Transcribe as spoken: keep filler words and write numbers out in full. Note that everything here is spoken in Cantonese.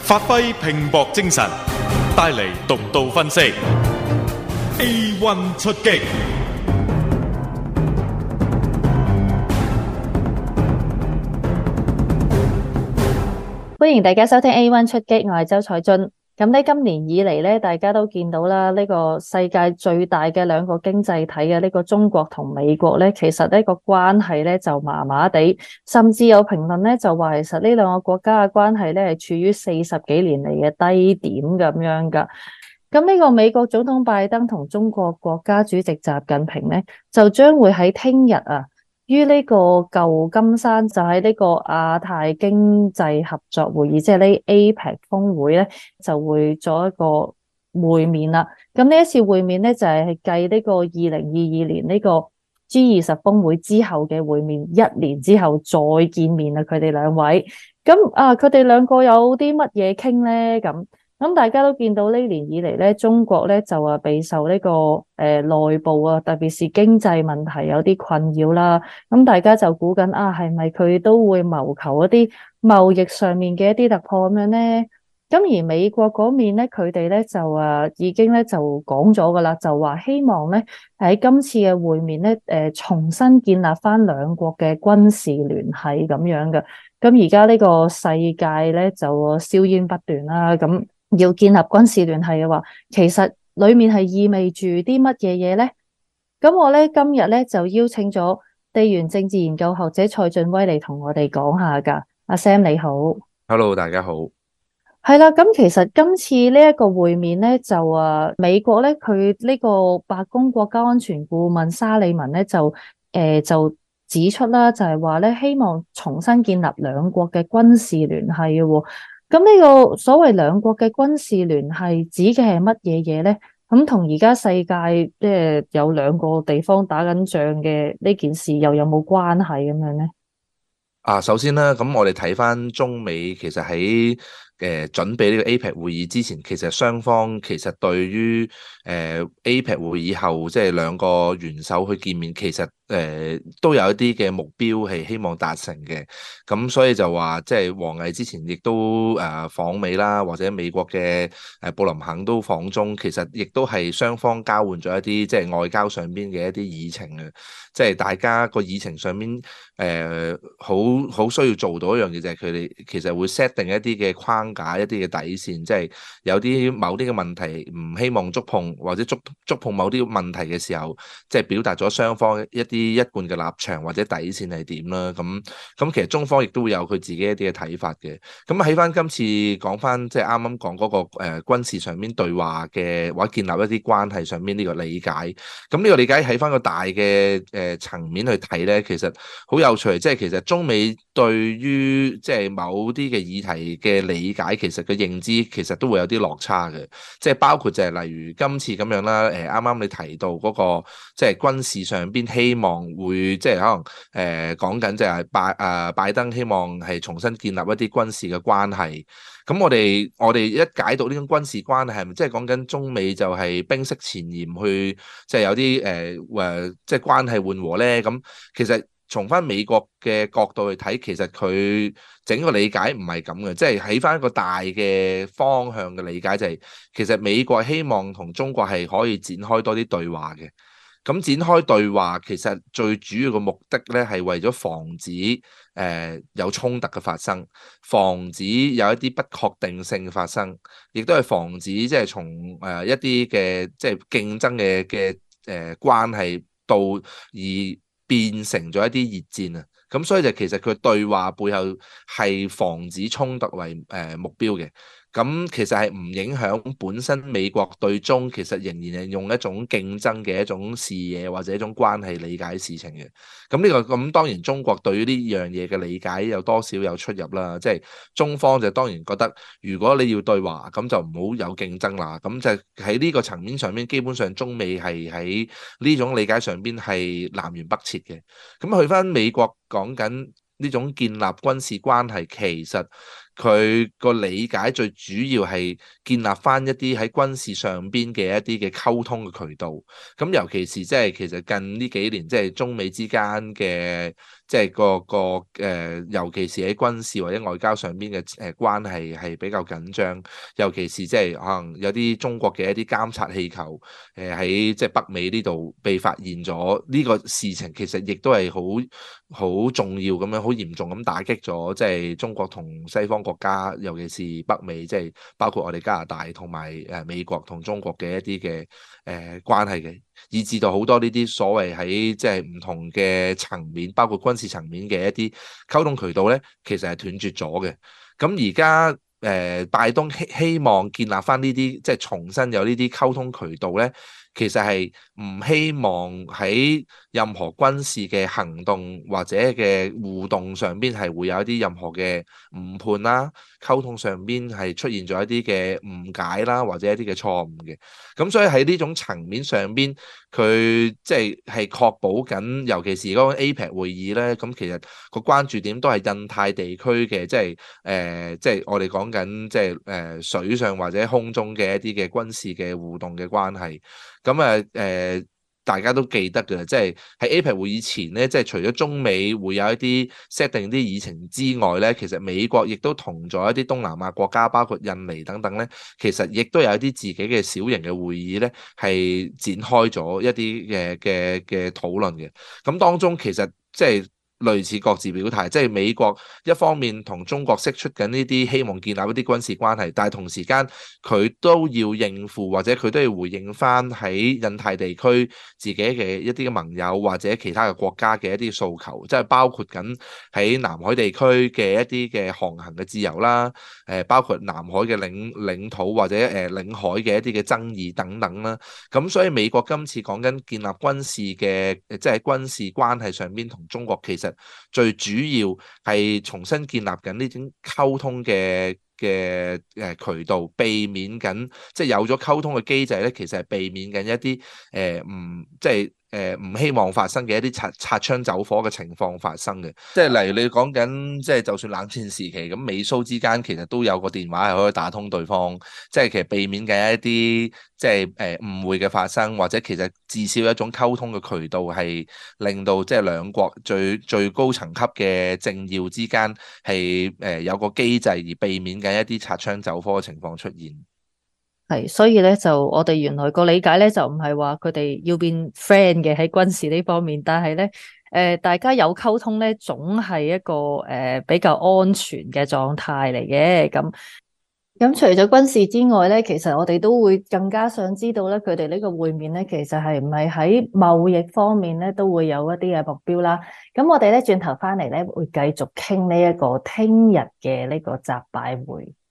發揮拼搏精神，帶嚟獨到分析。A one 出擊， 歡迎大家收聽 A one 出擊，我係周彩俊。咁呢今年以嚟咧，大家都見到啦，呢個世界最大嘅兩個經濟體嘅呢個中國同美國咧，其實呢個關係咧就麻麻地，甚至有評論咧就話，其實呢兩個國家嘅關係咧係處於四十幾年嚟嘅低點咁樣噶。咁呢個美國總統拜登同中國國家主席習近平咧，就將會喺聽日啊，於呢個舊金山就喺呢個亞太經濟合作會議，即係呢 A P E C 峰會咧，就會做一個會面啦。咁呢一次會面咧，就係繼呢個二零二二年呢個 G 二十峰會之後嘅會面，一年之後再見面啦。佢哋兩位，咁啊，佢哋兩個有啲乜嘢傾咧？咁咁大家都見到呢年以嚟咧，中國咧就話備受呢、這個誒、呃、內部啊，特別是經濟問題有啲困擾啦。咁大家就估緊啊，係咪佢都會謀求一啲貿易上面嘅一啲突破咁樣咧？咁而美國嗰面咧，佢哋咧就啊已經咧就講咗噶啦，就話希望咧喺今次嘅會面咧，誒、呃、重新建立翻兩國嘅軍事聯繫咁樣嘅。咁而家呢個世界咧就硝煙不斷啦，咁。要建立軍事聯繫嘅話，其實裡面係意味住啲乜嘢嘢咧？咁我咧今日咧就邀請咗地緣政治研究學者蔡俊威嚟同我哋講下㗎。阿 Sam 你好。 Hello， 大家好。 係啦，咁其實今次呢一個會面咧，就啊美國咧佢呢個白宮國家安全顧問沙利文咧就誒、呃、就指出啦，就係話咧希望重新建立兩國嘅軍事聯繫嘅喎。咁呢個所謂兩國嘅軍事聯繫指嘅係乜嘢嘢咧？咁同而家世界即係有兩個地方打緊仗嘅呢件事又有冇關係咁樣咧？ 啊，首先啦，咁我哋睇翻中美其實喺誒、呃、準備呢個 A P E C 會議之前，其實雙方其實對於誒、呃、A P E C 會議後即係兩個元首去見面，其實誒、呃、都有一啲嘅目標係希望達成嘅。咁所以就話即係王毅之前亦都誒訪美啦，或者美國嘅誒布林肯都訪中，其實亦都係雙方交換咗一啲即係外交上邊嘅一啲議程嘅，即係大家個議程上邊誒好。好需要做到一樣嘢，就係佢哋其實會 set 定一啲嘅框架、一啲嘅底線，即係有啲某啲嘅問題唔希望觸碰，或者觸觸碰某啲問題嘅時候，即係表達咗雙方一啲一貫嘅立場或者底線係點啦。咁咁其實中方亦都會有佢自己一啲嘅睇法嘅。咁喺翻今次講翻即係啱啱講嗰個誒軍事上面對話嘅或者建立一啲關係上面呢個理解，咁呢個理解喺翻個大嘅誒層面去睇咧，其實好有趣，即係其實中美對於即係某啲嘅議題嘅理解，其實嘅認知其實都會有啲落差嘅，即係包括就係例如今次咁樣啦，誒啱啱你提到嗰個即係軍事上邊希望會即係可能誒講緊就係拜誒拜登希望係重新建立一啲軍事嘅關係，咁我哋我哋一解讀呢種軍事關係係咪即係講緊中美就係冰釋前嫌去即係有啲誒誒即係關係緩和咧？咁其實從翻美國嘅角度去睇，其實佢整個理解唔係咁嘅，即係喺翻一個大嘅方向嘅理解就係，其實美國希望同中國係可以展開多啲對話嘅。咁展開對話其實最主要嘅目的咧，係為咗防止誒、呃、有衝突嘅發生，防止有一啲不確定性發生，亦都係防止即係從誒一啲嘅即係競爭嘅嘅誒關係到而變成咗一啲熱戰啊！咁所以就其實佢對話背後係防止衝突為誒目標嘅。咁其實係唔影響本身美國對中其實仍然係用一種競爭嘅一種視野或者一種關係理解事情嘅。咁呢個咁當然中國對於呢樣嘢嘅理解有多少有出入啦。即係中方就當然覺得如果你要對話咁就唔好有競爭啦。咁就喺呢個層面上面，基本上中美係喺呢種理解上邊係南轅北轍嘅。咁去翻美國講緊呢種建立軍事關係，其實佢個理解最主要係建立翻一啲喺軍事上邊嘅一啲嘅溝通嘅渠道。咁尤其是即係其實近呢幾年即係中美之間嘅即係個個誒、呃，尤其是喺軍事或者外交上邊嘅誒關係係比較緊張。尤其是即係可能有啲中國嘅一啲監察氣球誒喺即係北美呢度被發現咗，呢個事情其實亦都係好好重要咁樣，好嚴重咁打擊咗即係中國同西方國家，尤其是北美，即係包括我哋加拿大同埋誒美國同中國嘅一啲嘅誒關係嘅，以至到好多呢啲所謂喺即係唔同嘅層面，包括軍事層面嘅一啲溝通渠道咧，其實係斷絕咗嘅。咁而家誒拜登希希望建立翻呢啲，即係重新有呢啲溝通渠道咧，其實係唔希望喺任何軍事嘅行動或者嘅互動上邊係會有一啲任何嘅誤判啦，溝通上邊係出現咗一啲嘅誤解啦，或者一啲嘅錯誤嘅。咁所以喺呢種層面上邊，佢即係係確保緊，尤其是嗰個 A P E C 會議咧，咁其實個關注點都係印太地區嘅，即係誒，即係我哋講緊即係誒水上或者空中嘅一啲嘅軍事嘅互動嘅關係。咁啊誒，大家都記得嘅，即係喺 A P E C 會議前咧，即係除咗中美會有一啲 set 定啲議程之外咧，其實美國亦都同咗一啲東南亞國家，包括印尼等等咧，其實亦都有一啲自己嘅小型嘅會議咧，係展開咗一啲嘅嘅嘅討論嘅。咁當中其實即係類似各自表態，即係美國一方面同中國釋出緊呢啲希望建立一啲軍事關係，但係同時間佢都要應付或者佢都要回應翻喺印太地區自己嘅一啲嘅盟友或者其他嘅國家嘅一啲訴求，即係包括緊喺南海地區嘅一啲嘅航行嘅自由啦，誒包括南海嘅領領土或者誒領海嘅一啲嘅爭議等等啦。咁所以美國今次講緊建立軍事嘅，即係軍事關係上邊同中國其實最主要係重新建立緊呢種溝通嘅嘅誒渠道，避免緊即係有咗溝通嘅機制咧，其實係避免緊一啲誒唔即係誒唔希望發生嘅一啲擦擦槍走火嘅情況發生嘅。即係例如你講緊即係就算冷戰時期咁，美蘇之間其實都有個電話係可以打通對方，即係其實避免緊一啲即係誒誤會嘅發生，或者其實至少一種溝通嘅渠道係令到即係兩國最最高層級嘅政要之間係誒有個機制而避免緊一啲擦槍走火嘅情況出現。 係，所以咧就我哋原來個理解咧就唔係話佢哋要變 friend 嘅喺軍事呢方面，但係咧誒大家有溝通咧總係一個誒、呃、比較安全嘅狀態嚟嘅。咁咁除咗軍事之外咧，其實我哋都會更加想知道咧，佢哋呢個會面咧，其實係唔係喺貿易方面咧都會有一啲嘅目標啦。咁我哋咧轉頭翻嚟咧會繼續傾呢一個聽日嘅呢個習拜會。